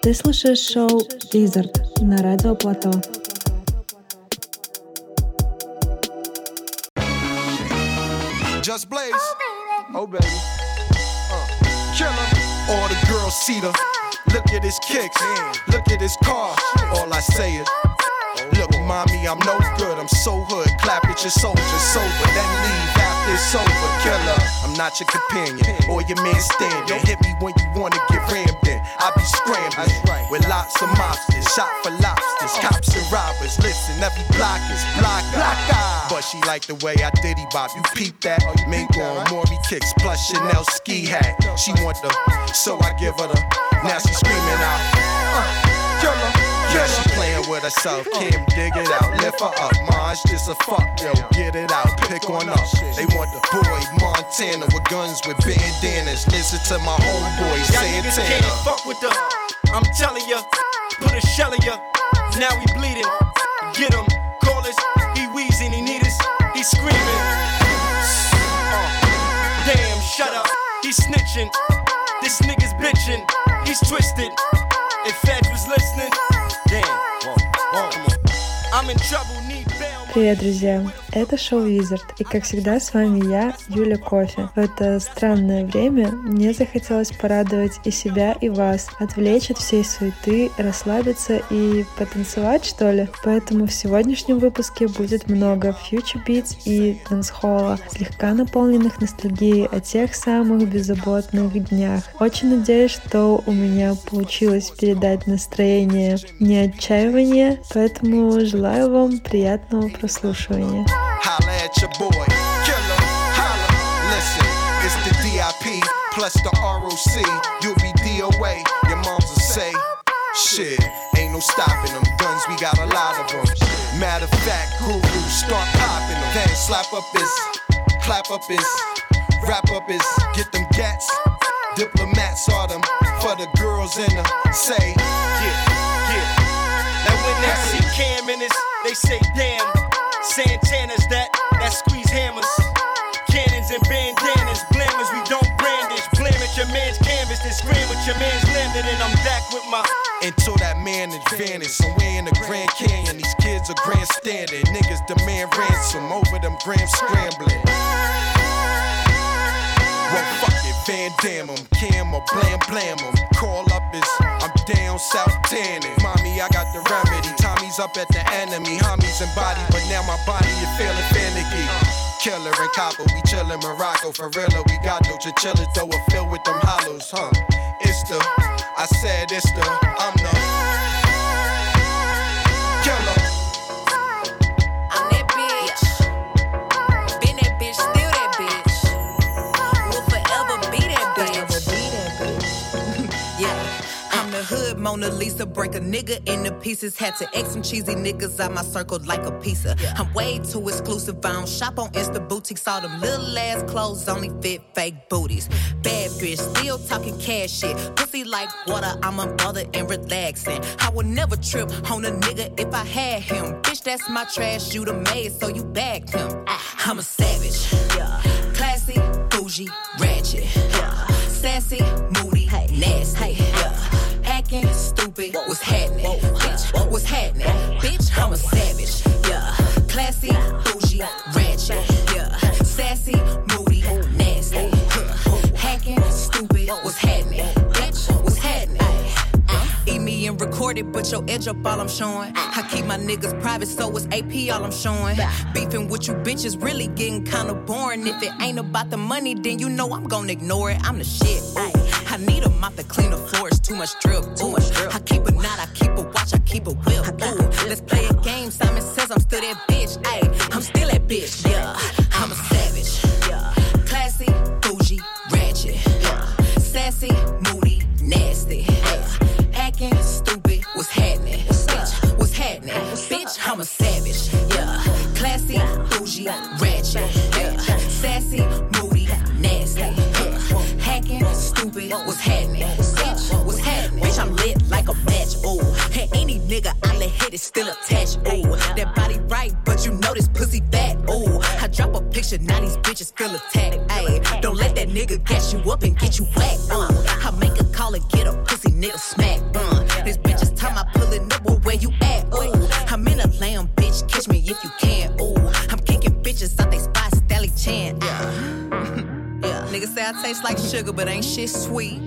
Ты слушаешь шоу Wizard на Радио Плато. Just Blaze. Oh, baby. Killer. All the girls see the. Look at his kicks. Look at his car. All I say is, look, mommy, I'm no good. I'm so hood. Clap at your soldiers sober. Then leave after it's over. Killer. I'm not your companion or your man standing. Hit me when you wanna get rammed in. I be scrambling with lots of mobsters. Shot for lobsters. Cops and robbers. Listen, every block is blocker. But she like the way I diddy bop. You peep that? Mingo on Maury kicks plus Chanel ski hat. She want the, so I give her the. Now she screaming out. Killer. Yeah, she playing with herself. Kim, dig it out. Lift her up. Maj, just a fuck, yo. Get it out. Pick on up. They want the boy Montana with guns with bandanas. Listen to my homeboy Santana. Y'all can't fuck with the. I'm telling ya. Put a shell in ya. Now we bleeding. Get him. Call us. He wheezing. He need us. He screaming. Damn, shut up. He snitching. This nigga's bitching. He's twisted. If Fed was listening. Привет, друзья! Это шоу Wizard, и как всегда с вами я, Юля Кофе. В это странное время мне захотелось порадовать и себя, и вас, отвлечь от всей суеты, расслабиться и потанцевать, что ли. Поэтому в сегодняшнем выпуске будет много future beats и дэнс-холла, слегка наполненных ностальгией о тех самых беззаботных днях. Очень надеюсь, что у меня получилось передать настроение не отчаивания, поэтому желаю вам приятного прослушивания. Holla at your boy, killer, holla. Listen, it's the DIP plus the ROC. You'll be DOA, your moms will say, shit, ain't no stopping them. Guns, we got a lot of them. Matter of fact, guru, start popping them. Then slap up his, clap up his, wrap up his, get them gats. Diplomats are them for the girls in the say, yeah. Now when they see Cam in this, they say damn. Santana's that squeeze hammers. Cannons and bandanas, blammers, we don't brandish. Blam at your man's canvas, then scream with your man's landed. And I'm back with my. Until that man advantage, somewhere in the Grand Canyon, these kids are grandstanding. Niggas demand ransom over them grams scrambling. Well, fuck it, Van Damme 'em, Cam or blam blam 'em. Call up is, I'm down south tanning. Mommy, I got the remedy. Tommy's up at the enemy. Homies and body, but now my body is feeling finicky. Killer and copper, we chillin' Morocco. For real, we got no chinchilla, though it filled with them hollows, huh? It's the, I said it's the, I'm the killer. I'm that bitch. Been that bitch, still that bitch. Will forever be that bitch. Yeah. I'm the hood Mona Lisa, break a nigga into pieces. Had to X some cheesy niggas out my circle like a pizza. I'm way too exclusive, I don't shop on Insta boutiques. All them little ass clothes only fit fake booties. Bad bitch, still talking cash shit. Pussy like water, I'm a mother and relaxing. I would never trip on a nigga if I had him. Bitch, that's my trash, you the maid, so you bagged him. I'm a savage, classy, bougie, ratchet, sassy, moody, nasty, acting stupid. What's happening? Bitch, what's happening? Bitch, I'm a savage. Classy, bougie, ratchet. Sassy, moody, nasty. Hacking, stupid. What's happening? Bitch, what's happening? Eat me and record it, but your edge up all I'm showing. I keep my niggas private, so it's AP all I'm showing. Beefing with you bitches really getting kinda boring. If it ain't about the money, then you know I'm gonna ignore it. I'm the shit. I need a mop to clean the floors, too much drip. I keep a knot, I keep a watch, I keep a whip. Let's play a game. Simon says I'm still that bitch. I'm still that bitch. I'm a savage. Classy, bougie, ratchet. Sassy, moody, nasty. Acting stupid. What's happening? Bitch, what's happening? Bitch, I'm a savage. Classy, bougie, ratchet. Sassy, moody, nasty. Hacking, stupid. What's happening? Bitch, what's happening? Bitch, I'm lit like a match. Ooh, and any nigga I let hit is still attached. Ooh, that body right, but you know this pussy fat. Ooh, I drop a picture, now these bitches feel attacked. Ayy, don't let that nigga gas you up and get you whacked. I make a call and get a pussy nigga smack. This bitch is time I pullin' up, well, where you at? Ooh, I'm in a lamb, bitch, catch me if you can. Ooh, I'm kicking bitches out they spot, Stally Chan. Yeah, niggas say I taste like sugar, but ain't shit sweet.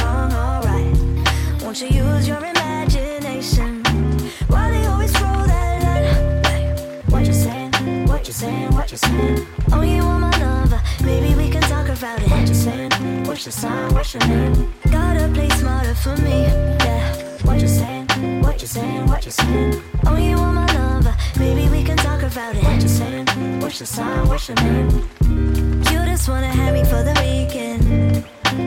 Won't you use your imagination? Why they always roll that saying? Oh, you want my lover? Maybe we can talk about it. What you saying? What's your sign? What's your name? Gotta play smarter for me. Yeah. What you saying? What you saying? What you saying? Oh, you want my lover? Maybe we can talk about it. What you saying? What's your sign? What's your name? You just wanna have me for the weekend.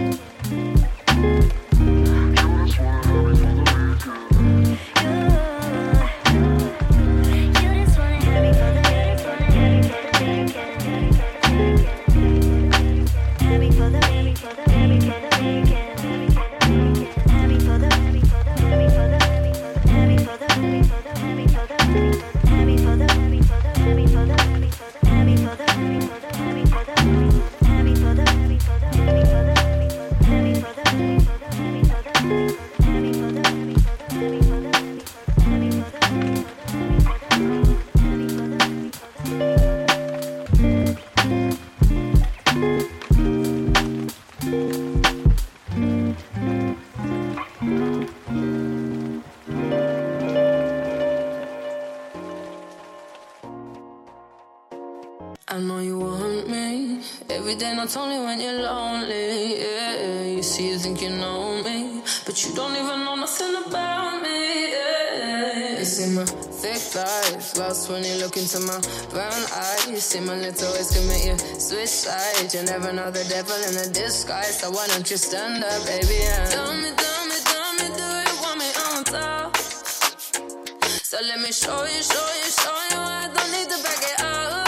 I know you want me every day, not only when you're lonely. Yeah, you see, you think you know me, but you don't even know nothing about me. Yeah, you see my thick thighs, lost when you look into my brown eyes. You see my little ways can make you switch sides. You never know the devil in a disguise, so why don't you stand up, baby? And tell me, do you want me on top? So let me show you. I don't need to back it up.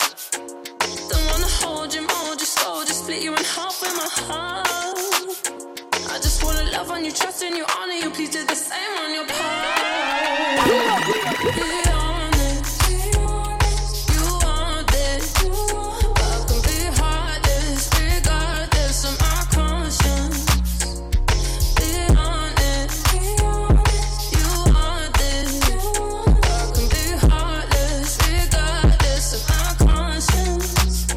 Hold you slow, just split you in half with my heart. I just wanna love on you, trust in you, honor you. Please do the same on your part. Be honest, you want this. I can be heartless, regardless of my conscience. Be honest, you want this. I can be heartless, regardless of my conscience.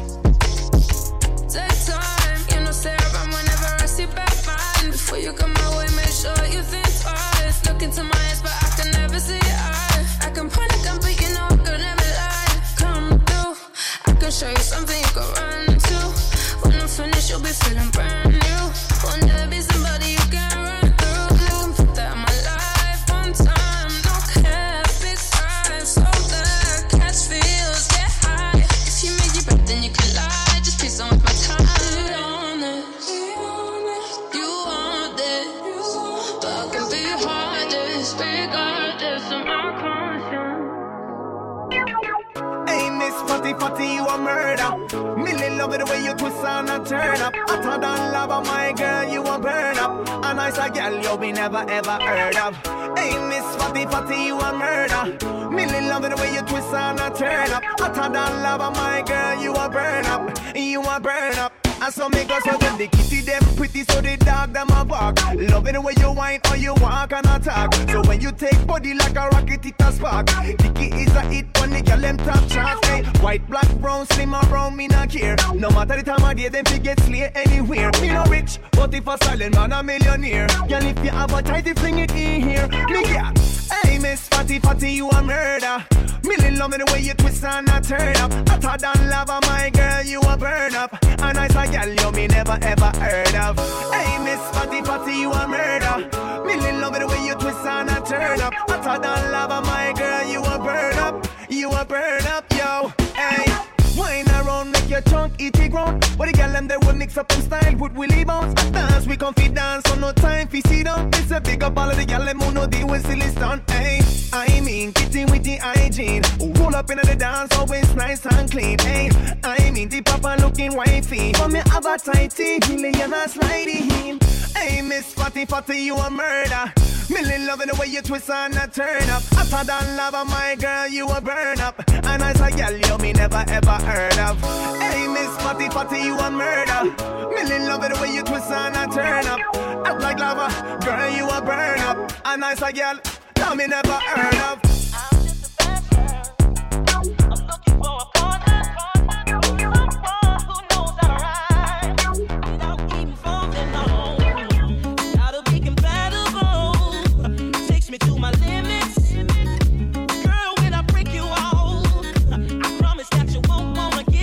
Take time, you know, stay around whenever I see back mine. Before you come my way, make sure you think twice. Look into my eyes, but I can never see your eyes. I can point a gun, but you know I could never lie. Come through, I can show you something you can run to. When I'm finished, you'll be feeling brand new. Will never be somebody you can run through. I can put that in my life one time. No cap, big time, so that catch feels, get high. If you make it back, then you can lie. Just please don't waste my time. Be honest, you want it, but I can be heartless, regardless of my conscience. Hey, Miss Fatty, you a murder. Million love it the way you twist and a turn up. Hotter than lava, my girl, you a burn up. A nice a girl you be never ever heard of. Hey, Miss Fatty, you a murder. Million love it the way you twist and a turn up. Hotter than lava, my girl, you a burn up. You a burn up. And so make us so when the kitty them pretty, so the dog them a bark. Love it the way you whine or you walk and attack. So when you take body like a rocket, it a spark. Dicky is a hit when the girl them top charts. Hey, white, black, brown, slim or brown, me not care. No matter the time of day, them fi get slay anywhere. Me no rich, but if a silent man a millionaire. Girl, if you have a tighty, fling it in here. Me get. Hey, Miss Fatty, you a murder. Million love me the way you twist and a turn up. Hotter than lava, my girl, you a burn up. A nice a girl you me never ever heard of. Hey, Miss Fatty, you a murder. Million love me the way you twist and a turn up. Hotter than lava, my girl, you a burn up. You a burn up, yo. Hey. Wine around, make your chunk eat the ground. But the girl them they will mix up them style, put willy bounce. Dance, we comfy dance, so no time for sit down. It's a big up all of the girl them who know deal with silly stunt. Hey, I mean, kitty with the hygiene. Roll up in the dance, always nice and clean. Hey, I mean, the papa looking wifey. For me have a tighty, million and sliding. Hey, Miss Fatty, you a murder. Million loving the way you twist and a turn up. Hotter than lava, my girl, you a burn up. A nice a girl you me never ever heard of. Hey, Miss Fatty, you a murder. Million loving the way you twist and a turn up. Act like lava, girl, you a burn up. A nice a girl, you me never heard of. I'm just a bad girl. I'm looking for a partner. Someone who knows how to ride without even falling on. Gotta be compatible. Takes me to my limits. Girl, when I break you off, I promise that you won't wanna give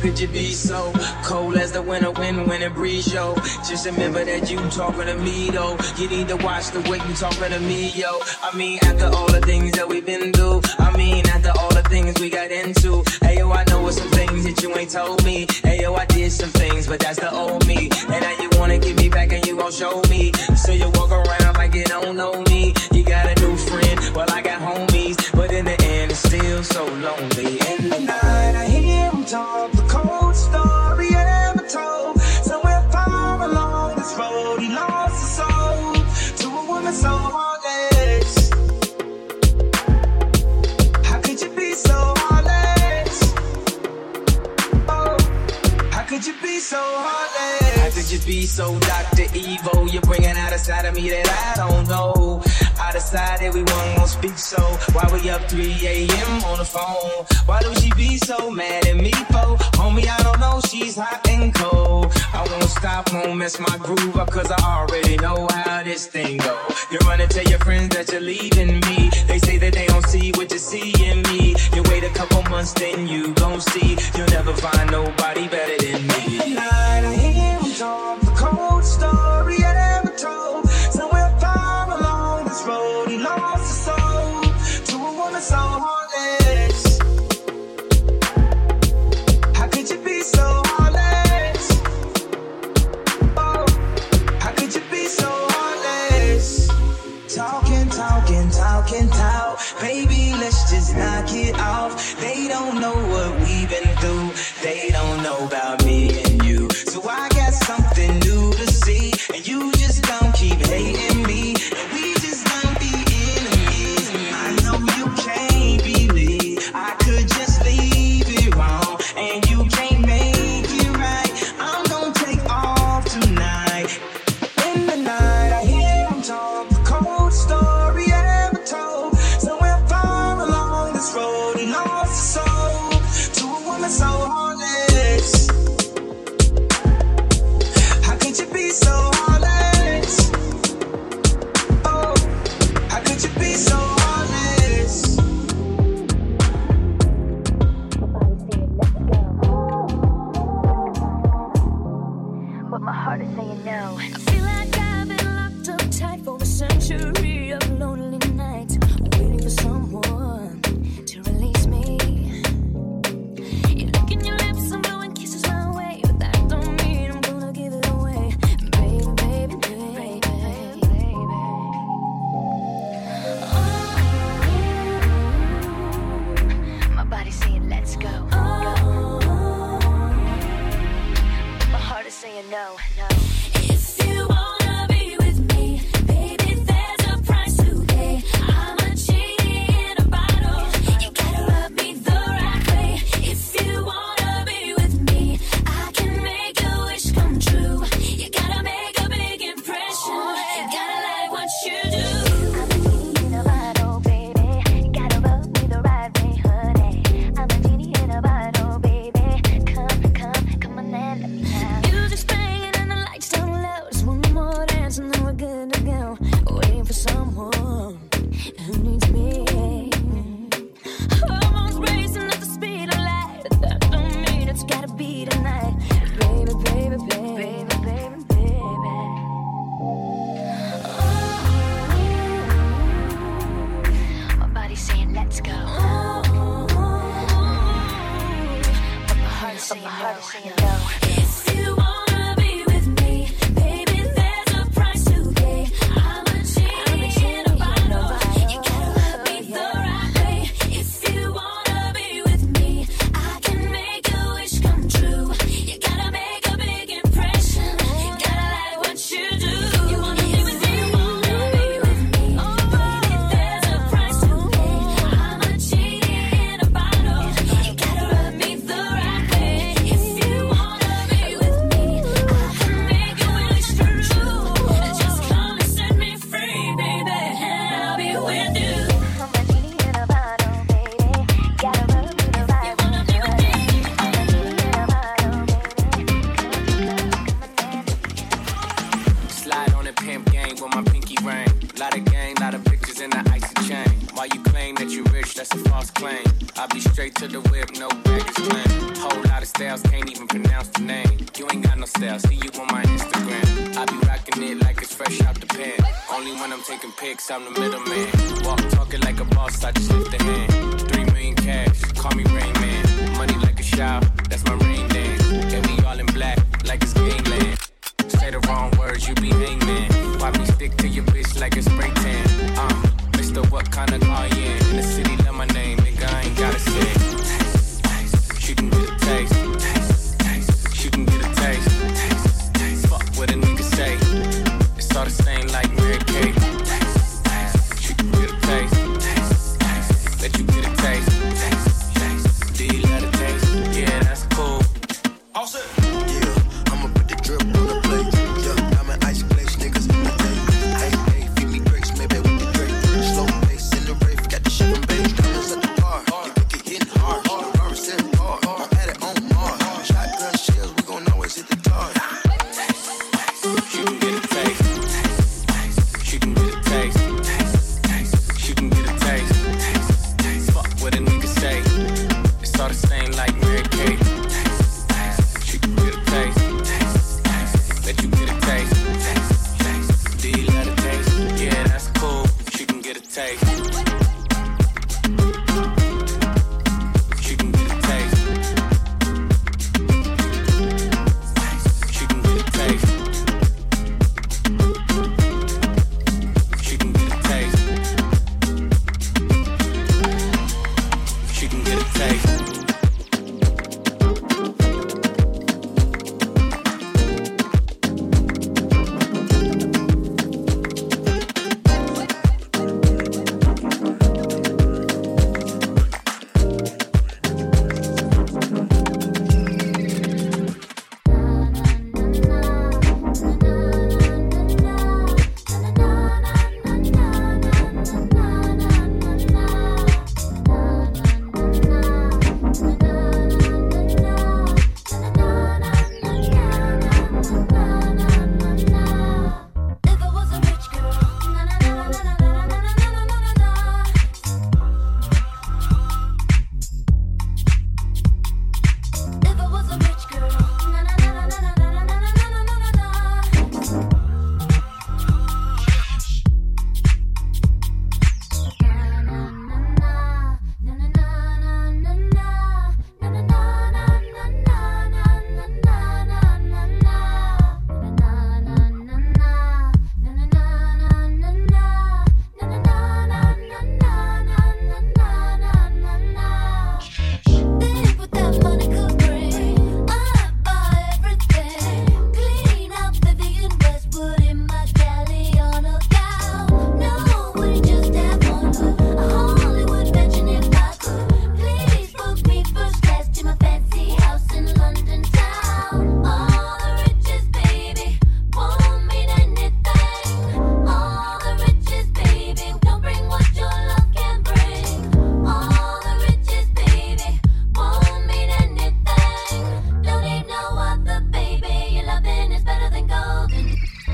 could you be so cold as the winter wind when it breeze, yo? Just remember that you talking to me, though. You need to watch the way you talking to me, yo. I mean, after all the things that we've been through, I mean, after all the things we got into. Hey, yo, I know some things that you ain't told me. Hey, yo, I did some things, but that's the old me. And now you wanna get me back and you gon' show me. So you walk around like you don't know me. You got a new friend, well, I got homies. But in the end, it's still so lonely. In the night, I hear him talk the cold story ever told. Somewhere far along this road, he lost his soul to a woman so heartless. How could you be so heartless? Oh, how could you be so heartless? How could you be so Dr. Evil? You're bringing out a side of me that I don't know. I decided we weren't gonna speak, so why we up 3 a.m. on the phone? Why do she be so mad at me for? Homie, I don't know, she's hot and cold. I won't stop, won't mess my groove up, cause I already know how this thing go. You run and tell your friends that you're leaving me. They say that they don't see what you see in me. You wait a couple months, then you gon' see. You'll never find nobody better than me. Tonight I hear him talk the cold story I ever told. Somewhere far along this road, he lost his soul to a woman so heartless. How could you be so heartless? Oh, how could you be so heartless? Talking, talking, talking, talk. Baby, let's just knock it off. They don't know what we've been through. They don't know about me and you. So I got something new to see. And you just don't keep hating me. And we just don't be enemies. I know you can't believe I could just leave it wrong. And you can't make it right. I'm gonna take off tonight. In the night I hear him talk the cold story I ever told. Somewhere far along this road he lost his soul to a woman so heartless. How could you be so heartless? Oh, how could you be so heartless? But my heart is saying no. I feel like I've been locked up tight for a century of lonely nights, waiting for someone to release me. You look in your lips, I'm blowing kisses my way, but that don't mean I'm gonna give it away, baby, baby, baby, baby. Oh, my body's saying let's go. My heart is saying no, no. If you wanna be with me, baby, there's a price to pay. I'm a genie in a bottle. You gotta rub me the right way. If you wanna be with me, I can make your wish come true. You gotta make a big impression. You gotta like what you do. I'm a genie in a bottle, baby. You gotta rub me the right way, honey. I'm a genie in a bottle, baby. Come on and let me out. Music's playing and the lights down low. Just one more dance and then we're good to go. Waiting for someone who needs me. Hormones racing at the speed of light, but that don't mean it's gotta be tonight. Baby, baby, baby, baby, baby, baby. My body's saying let's go. But my heart is saying no. If you wanna be with me, baby, there's a price to pay. I'm a genie in a bottle. You gotta love me the right way. If you wanna be with me, I can make your wish come true. You gotta make a big impression. You gotta like what you do. You wanna be with me, wanna be with me. Baby, there's a price to pay. I'm a genie in a bottle. You gotta rub me the right way. If you wanna be with me, else can't even pronounce the name. You ain't got no style, see you on my Instagram. I be rocking it like it's fresh out the pan. Only when I'm taking pics, I'm the middleman. Walk talking like a boss, I just lift a hand. 3 million cash, call me Rain Man. Money like a shower, that's my rain dance. And we all in black, like it's gangland. Say the wrong words, you be hangman. Why me stick to your bitch like a spray tan? Mister, what kind of car you in the city, love my name, nigga, I ain't gotta say it. She can get a taste. She can get a taste. Fuck what a nigga say. It's all the same like Mary Kate. She can get a taste. Let you get a taste. Do you love the taste? Yeah, that's cool. All set. Yeah, I'ma put the drip on the plate. Yeah, I'm an ice glaze, niggas in the day. Hey, feed me grapes, maybe with the Drake. Slow pace in the rave, got the shit from base. Diamonds at the bar, you think it hitting hard. The bar is setting hard, I'm at it on Mars. Shotgun shells, we gon' always hit the target. She can get a taste. She can get a taste. She can get a taste. Fuck what a nigga say. It's all the same like Mary Kate. She can get a taste. Let you get a taste. Do you love the taste? Yeah, that's cool. She can get a taste. She can get a taste. She can get a taste. She can get a taste. She can get a taste. If I was a rich girl, na na na na na na na na na na na na. If I was a rich girl, na na na na na na na na na na na na na. Think what that money could bring. I'd buy everything. Clean out Vivian Westwood in my Galliano gown. No, wouldn't just have one, but a Hollywood mansion if I could. Please book me first class to my fancy house in London town. All the riches, baby, won't mean anything. All the riches, baby, don't bring what your love can bring. All the riches, baby, won't mean anything. Don't need no other, baby. Your loving is better than golden.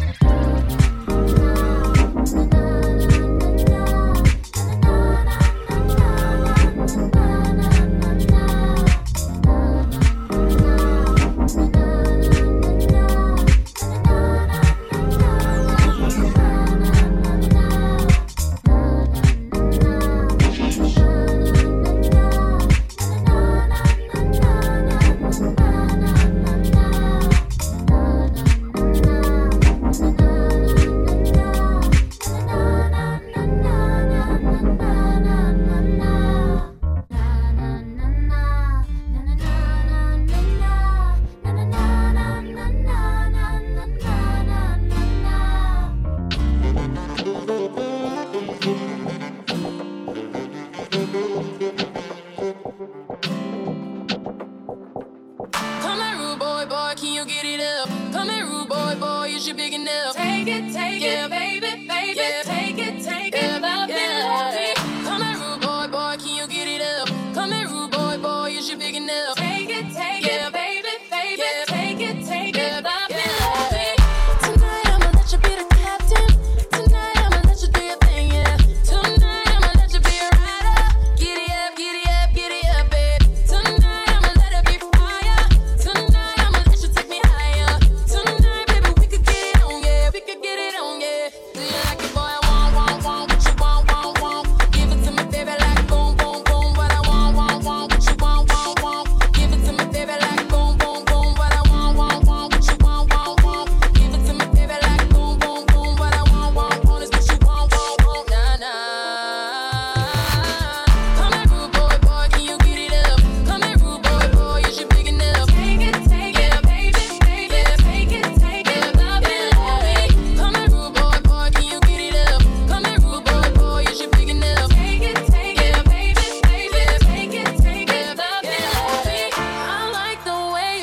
Come here, rude boy, boy, can you get it up? Come here, rude boy, boy, is you big enough? Take it, baby, baby. Yeah. Take it, love me. Come here, rude boy, boy, can you get it up? Come here, rude boy, boy, is you big enough? Take it, baby, baby. Yeah. Take it, love me. Tonight I'ma let you be the captain. Tonight I'ma let you do your thing, yeah. Tonight I'ma let you be a rider. Giddy up, baby. Tonight I'ma let it be fire.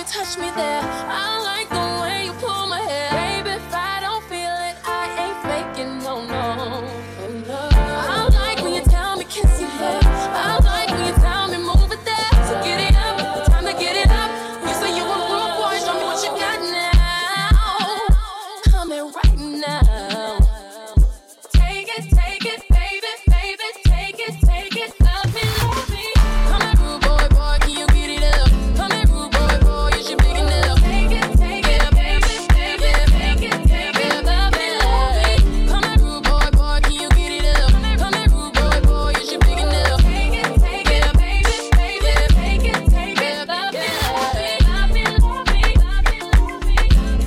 touch me there. I like the way you pull my hair. Baby, if I don't feel it, I ain't faking, no, no. I like when you tell me kiss your hair. I like when you tell me move it there. So get it up, time to get it up. You say you a rude boy, show me what you got now. Come in right now. Take it, baby, baby, take it, love me, love me. Come here, rude boy, boy, can you get it up? Come here, rude boy, boy, you should big enough. Take it, baby, baby, take it, love me, love me. Come here, rude boy, boy, can you get it up? Come here, rude boy, boy, you should big enough. Take it, baby, baby, take it, love me, love me, love me, love me, love me, love me.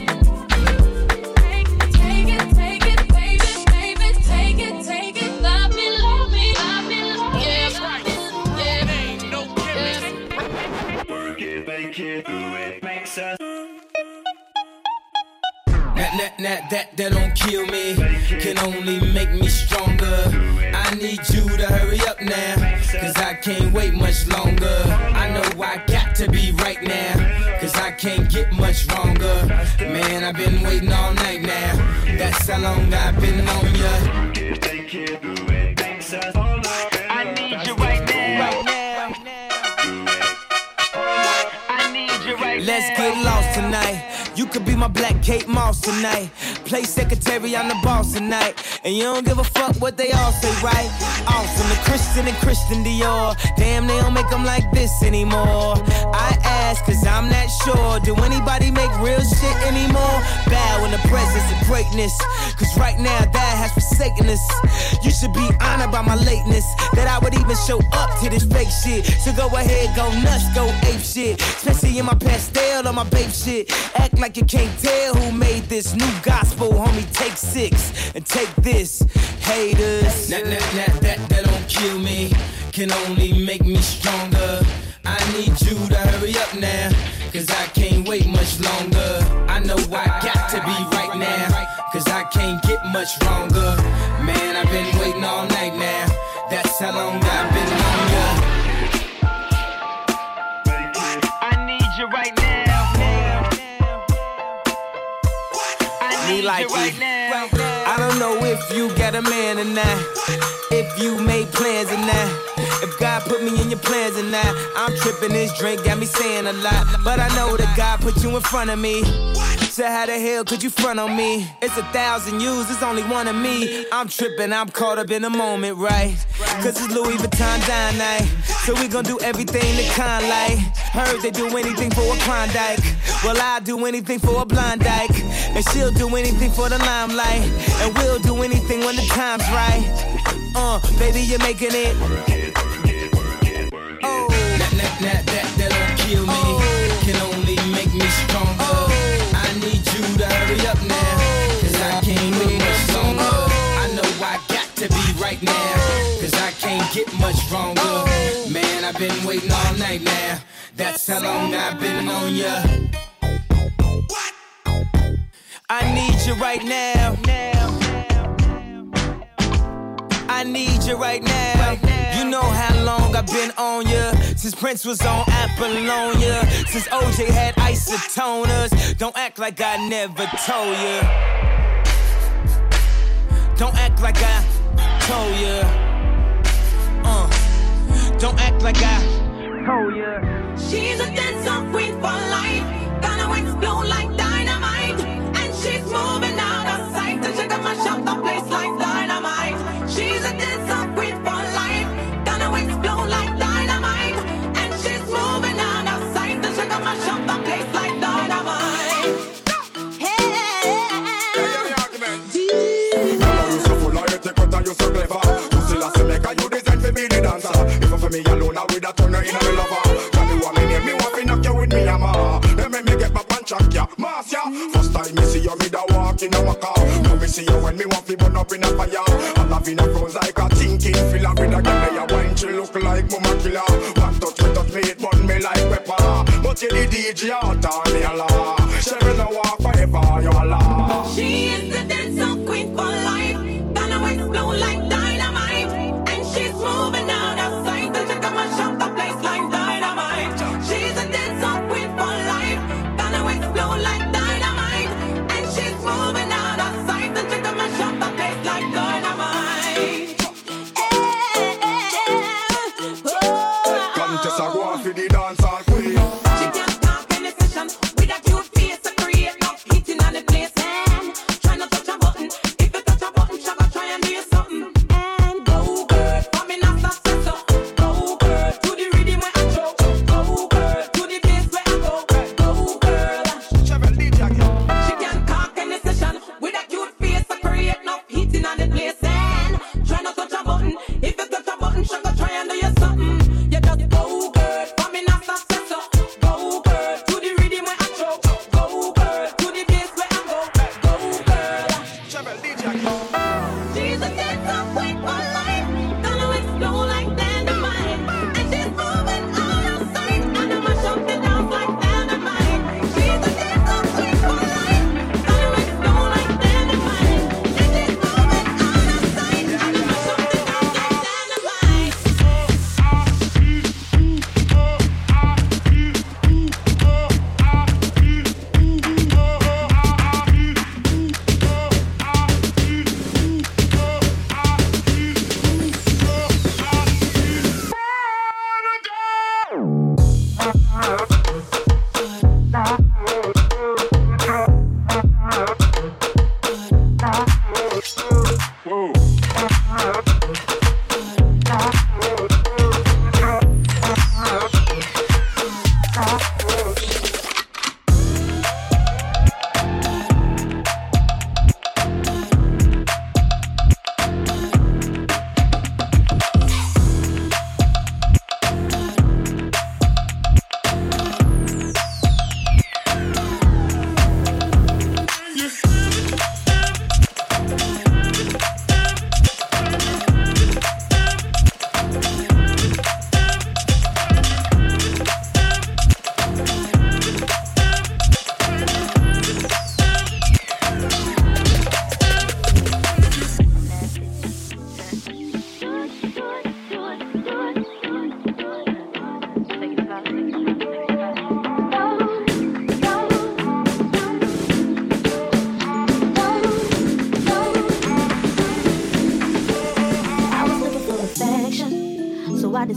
Take it, baby, baby, take it, love me, love me, love me, love me. Yeah, yeah, ain't no gimmicks. Work it, make it, do it, makes us. That don't kill me, can only make me stronger. I need you to hurry up now, cause I can't wait much longer. I know I got to be right now, cause I can't get much longer. Man, I've been waiting all night now, that's how long I've been on ya. I need you right now. I need you right now. Let's get lost tonight. You could be my black Kate Moss tonight. Play secretary, I'm the boss tonight. And you don't give a fuck what they all say, right? Awesome, the Christian and Christian Dior. Damn, they don't make them like this anymore. I ask, cause I'm not sure. Do anybody make real shit anymore? Bow in the presence of greatness, cause right now that has forsaken us. You should be honored by my lateness, that I would even show up to this fake shit. So go ahead, go nuts, go ape shit. Especially in my pastel or my babe shit. Act like you can't tell who made this new gospel, homie. Take 6 and take this, haters. That don't kill me, can only make me stronger. I need you to hurry up now, cause I can't wait much longer. I know I got to be right now, cause I can't get much longer. Man, I've been waiting all night now, that's how long I've been on ya. I need you right now. Like right now. I don't know if you got a man or not, if you made plans or not, if God put me in your plans or not. I'm tripping, this drink got me saying a lot, but I know that God put you in front of me. So how the hell could you front on me? It's 1,000 yous, it's only one of me. I'm tripping, I'm caught up in the moment, right? Cause it's Louis Vuitton dine night, so we gon' do everything the kind like. Heard they do anything for a Klondike, well I'll do anything for a blind dyke, and she'll do anything for the limelight, and we'll do anything when the time's right. Baby, you're making it. Oh, that don't kill me, can only make me stronger. I need you to hurry up now, cause I can't wait much longer. I know I got to be right now, cause I can't get much stronger. Man, I've been waiting all night now, that's how long I've been on ya. I need you right now. I need you right now. You know how long I've been on ya, since Prince was on Apollonia, since OJ had isotoners. Don't act like I never told ya. Don't act like I told ya. Don't act like I told ya. She's a dancer queen for life, gonna explode like dynamite, and she's moving out of sight, and she got my shop the place like dynamite. She's a dancer queen for life, gonna explode like dynamite, and she's moving out of sight, and she got my shop the place like dynamite. You so full of your take what you so clever. You still a say make you design for me the dancer. If for me alone, I would have turned her in a lover. Tell me what me name, me want to knock you with me hammer. Then make me get back and chuck ya, mass ya. First time me see you, me da walk in a car. Now me see you when me want to burn up in a fire. I love in a front like a thinking filler. With a girl lay a wine, she look like mama killer. One touch me, it burn me like pepper. But you the DJ out on me Allah. She will not walk forever, you Allah. She is the dancer queen for life, gonna explode like dynamite, and she's moving out of sight, and she got my shop the place like dynamite. She's a dancer queen for life,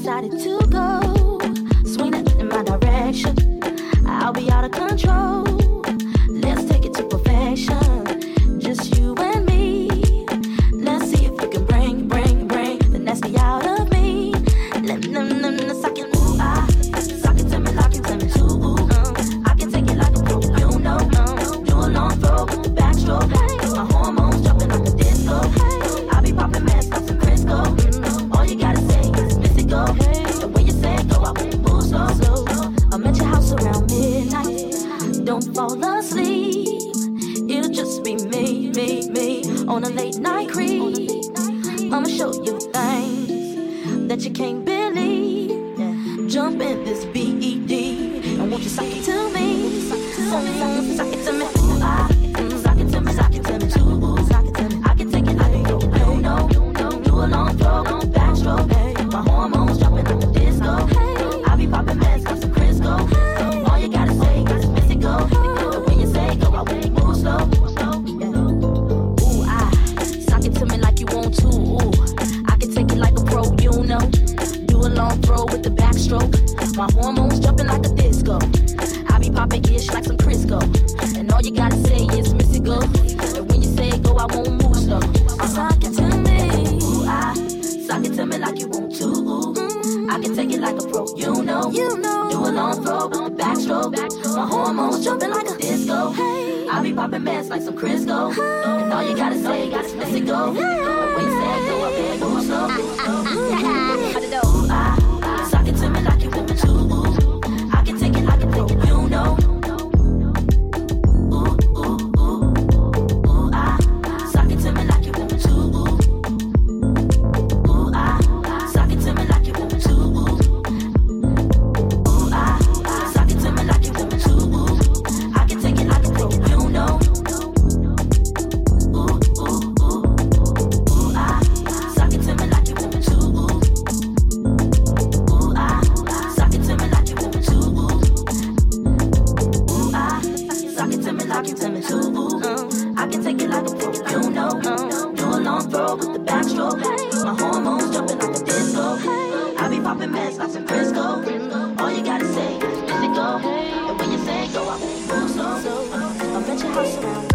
decided to go, swing it in my direction. I'll be out of control. Let's take it to perfection. Just you and me. Let's see if you can bring the nasty out of me. Let's suck it, ooh, suck it to me, lock it to me too. I can take it like a pro, you know. Do a long throw with the backstroke. My hormones jumping like a disco. I'll be popping mess like some Crisco. All you gotta say is miss it go. And when you say go, I won't move slow. I'm at your house around midnight. Don't fall asleep. It'll just be me on a late night creep. I'ma show you things that you can't believe. Jump in this BED and won't you suck it to me? Suck it to me. Suck it to me, suck it to me too. Suck it to me. I can take it like a no. Do a long throw, backstroke. My hormones jumping like a disco. I be popping meds like some Crisco. All you gotta say is miss it go. When you say go, I won't move slow. Ooh, suck it to me like you want to. Ooh, I can take it like a pro, you know. Do a long throw with the backstroke. My hormones jumping like a disco. I be popping ish like some Crisco. And all you gotta say is miss it go. And when you say go, I won't move slow. Suck it to me. Ooh, suck it to me like you want to. Ooh, I can take it like a pro, you know. Do a long throw with the backstroke. My hormones jumping like a disco. I be popping mess like some Crisco. And all you gotta say is miss it go. And when you say go, I better move slow. Suck it to me like you want to. I can take it like a pro, you know. Suck it to me like you want to. Suck it to me like you want to. Suck it to me like you want to. I can take it like a pro, you know. Suck it to me like you want to. Suck it to me like you want to. Suck it to me like you want to. I can take it like a pro, you know. Do a long throw with the backstroke. My hormones jumping like a disco. I be popping meds like some Crisco. All you gotta say is miss it go. And when you say go, I won't move slow. I'm at your house around.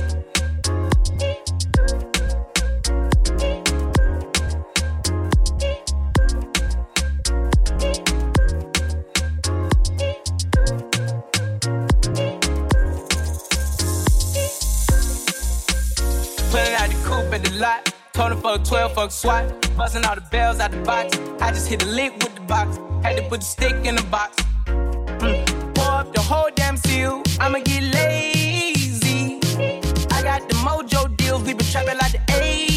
Pulling out the coupe at the lot. Told him fuck 12, fuck SWAT. Busting all the bells out the box. I just hit a lick with the box. Had to put the stick in the box. Pour up the whole damn seal. I'ma get lazy. I got the mojo deals. We been trapping like the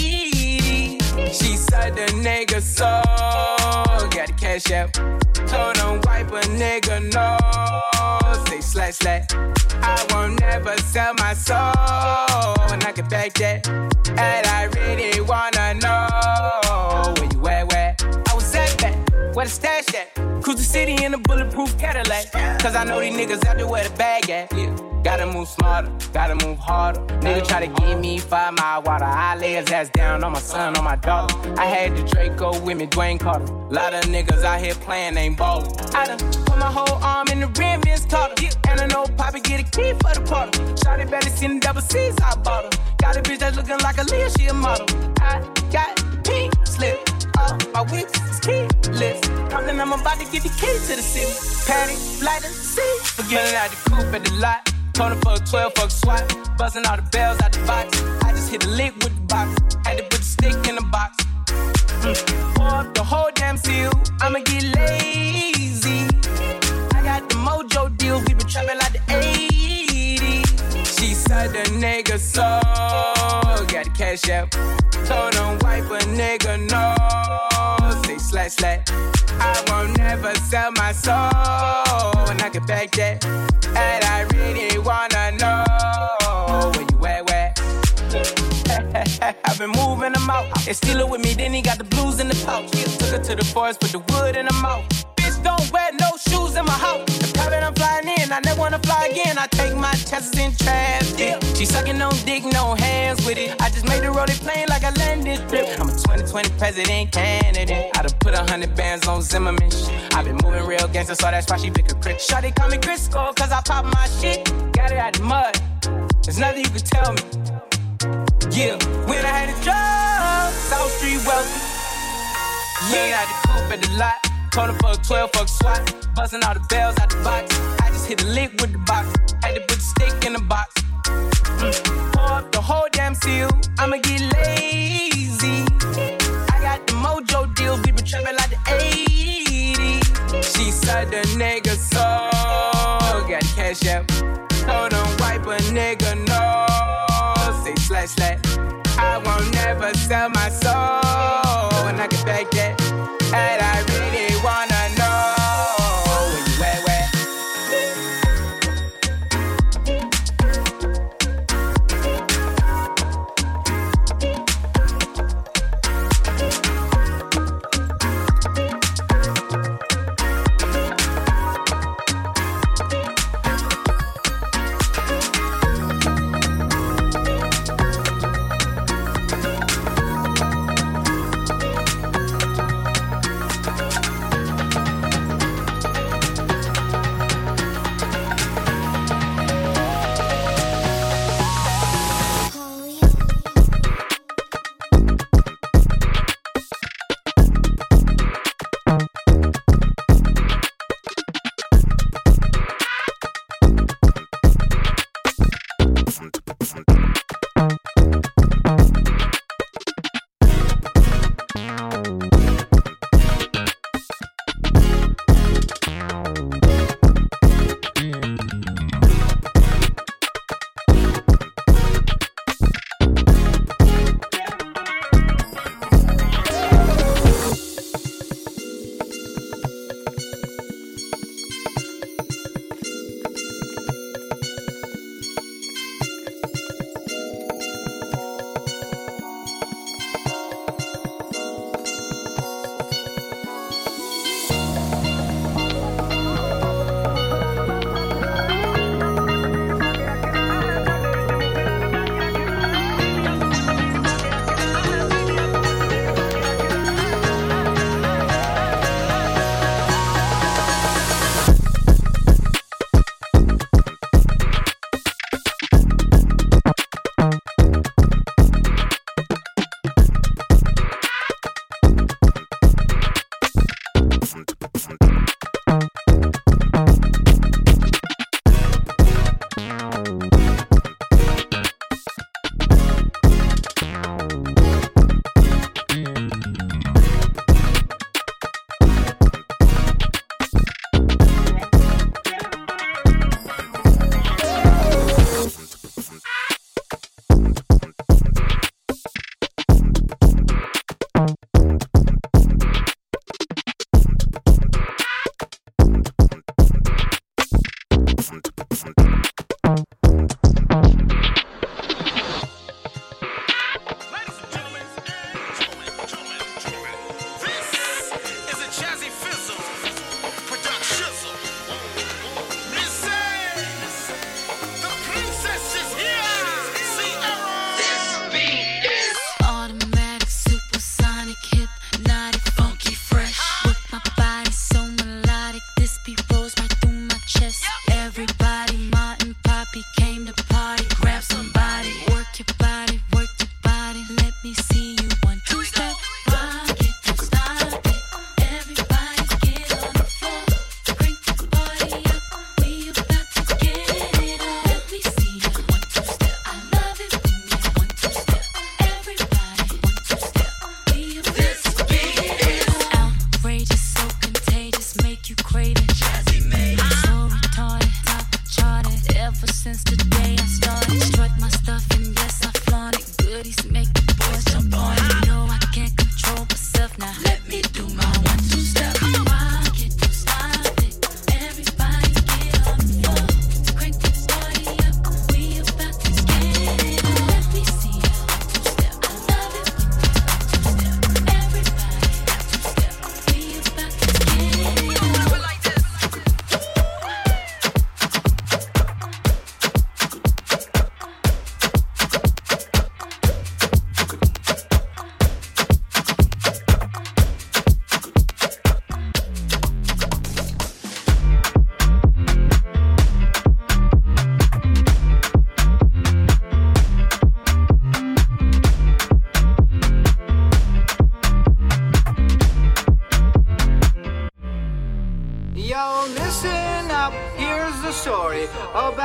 80s. She said the nigga so. Got the cash out. Told him wipe a nigga no. Say slash slash. I won't never sell my soul. And I can back that. And I really wanna know where you at, where? I was at that, where the stash at? Cruise the city in a bulletproof Cadillac. Cause I know these niggas out there where the bag at. Yeah. Gotta move smarter, gotta move harder. Nigga try to give me 5 mile water. I lay his ass down on my son, on my daughter. I had the Draco with me, Dwayne Carter. Lot of niggas out here playing, ain't ballin'. I done put my whole arm in the rim, Vince Carter. And I know Poppy get a key for the party. Shawty better seen the double C's, I bought her. Got a bitch that's looking like a Leah, she a model. I got pink slip, my whips is keyless. Talking, I'm about to get the key to the city. Patty, light and see. Forgetting out the coupe at the lot. Told him fuck 12, fuck SWAT. Busting all the bells out the box. I just hit a lick with the box. Had to put the stick in the box. Pour up the whole damn seal. I'ma get lazy. I got the mojo deals. We been trapping like the 80s. She said the nigga so. Got the cash out. Told him wipe a nigga no. Say slash slash. I won't never sell my soul. And I can back that. And I really wanna know where you at, where? I've been moving them out. They steal it with me, then he got the blues in the pouch. Took her to the forest, put the wood in her mouth. Bitch, don't wear no shoes in my house. The private I'm flying in, I never wanna fly again. I take my chances in traffic. She sucking on dick, no hands with it. I just made the rolling plane like a landing strip. I'm a 20 2020 president candidate. I done put 100 bands on Zimmerman shit. I been moving real gangster, so that's why she pick a crit. Shawty call me Crisco, cause I pop my shit. Got it out the mud. There's nothing you can tell me. Yeah, when I had a job, South Street wealthy. Yeah, out the coupe at the lot. Told her fuck 12, fuck SWAT. Busting all the bells out the box. I just hit a lick with the box. Had to put the stick in the box. Pour up the whole damn seal. I'ma get lazy. I got the mojo deals. We been trapping like the 80s. She said the nigga so got cash out. Told him wipe a nigga no. Say slash slash. I won't never sell my soul. When I get back that. And I really wanna know where you at, where?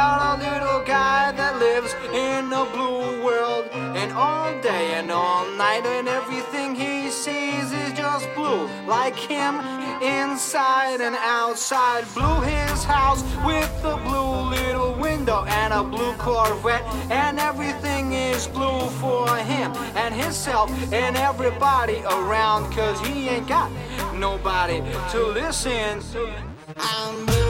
about a little guy that lives in a blue world, and all day and all night, and everything he sees is just blue, like him inside and outside. Blue his house with a blue little window and a blue Corvette, and everything is blue for him and himself and everybody around, 'cause he ain't got nobody to listen to. I'm blue.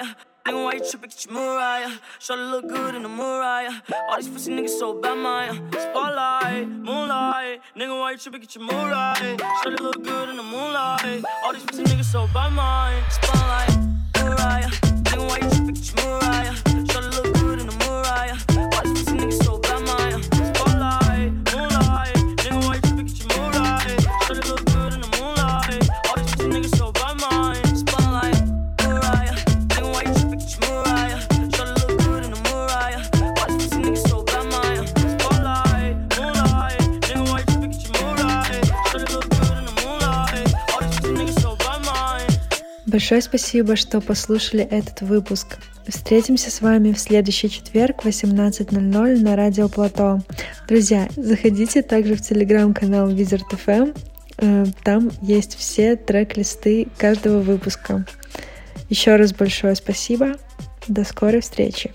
Mariah. Nigga, why you trippin', get your Mariah? Shawty look good in the Mariah. All these pussy niggas so bad, Maya. Spotlight, moonlight. Nigga, why you trippin', get your Mariah? Shawty look good in the moonlight. All these pussy niggas so bad, Maya. Spotlight, Mariah. Nigga, why you trippin', get your Mariah? Shawty look good in the Mariah. All these pussy niggas so bad, Maya. Spotlight, moonlight. Nigga, why you trippin', get your Mariah? Shawty look good in the moonlight. All these pussy niggas so bad, Maya. Spotlight, Mariah. Nigga, why you trippin', get your Mariah? Shawty look good in the Mariah. All these pussy niggas so bad, Maya. Spotlight, moonlight. Nigga, why you trippin', get your Mariah? Shawty look good in the moonlight. All these pussy niggas so bad, Maya. Большое спасибо, что послушали этот выпуск. Встретимся с вами в следующий четверг в 18:00 на Радио Плато. Друзья, заходите также в телеграм-канал Wizard FM. Там есть все трек-листы каждого выпуска. Еще раз большое спасибо. До скорой встречи.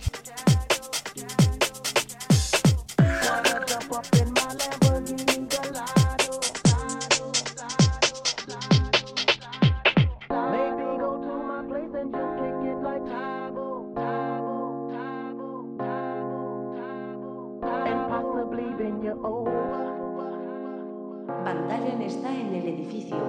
Pantalla está en el edificio.